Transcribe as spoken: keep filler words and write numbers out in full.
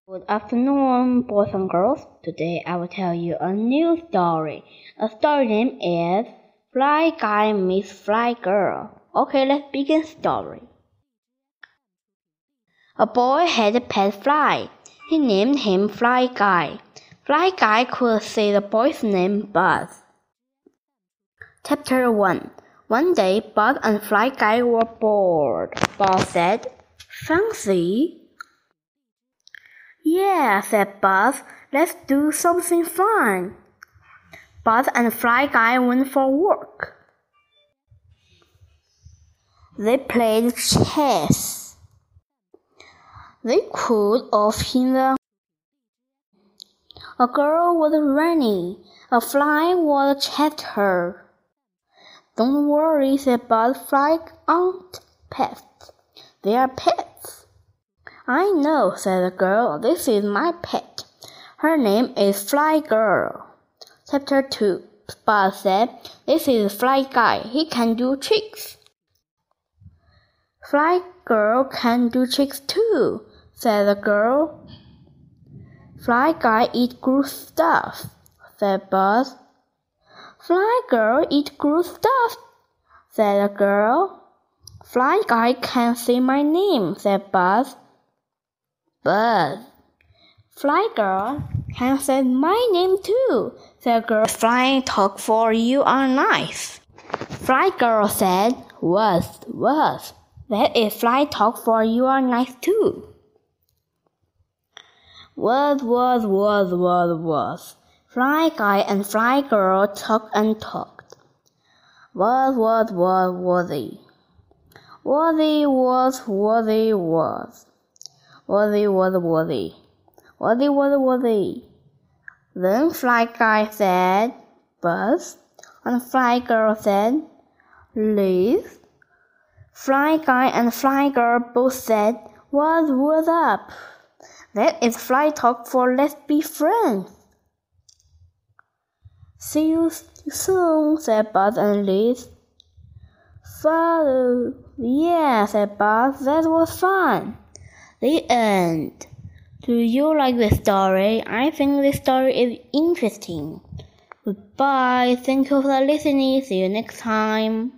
Good afternoon, boys and girls. Today I will tell you a new story. A story name is Fly Guy Meets Fly Girl. Okay, let's begin story. A boy had a pet fly. He named him Fly Guy. Fly Guy could say the boy's name Buzz. Chapter one. One day, Buzz and Fly Guy were bored. Buzz said, "Fancy?" "Yeah," said Buzz. "Let's do something fun." Buzz and Fly Guy went for a walk. They played chess. They cooled off in the. A girl was running. A fly was chased her. "Don't worry," said Buzz. "Fly aren't pets. They are pets." "I know," said the girl. "This is my pet. Her name is Fly Girl." Chapter two. Buzz said, "This is Fly Guy. He can do tricks." "Fly Girl can do tricks too," said the girl. "Fly Guy eat good stuff," said Buzz. "Fly Girl eat good stuff," said the girl. "Fly Guy can say my name," said Buzz. "Buzz, Fly Girl can say my name too," said the girl. "Flying talk for you are nice." Fly Girl said, "Was, was. That is fly talk for you are nice too." Was, was, was, was, was. Fly Guy and Fly Girl talked and talked. Was, was, was, was-y. Was-y, was, was-y, was. Was-y, was, was-y. Was-y, was, was-y. Then Fly Guy said, "Buzz," and Fly Girl said, "Liz." Fly Guy and Fly Girl both said, "What, what's up?" "That is fly talk for let's be friends." "See you soon," said Buzz and Liz. "Follow." "Yeah," said Buzz. "That was fun." The end. Do you like this story? I think this story is interesting. Goodbye. Thank you for listening. See you next time.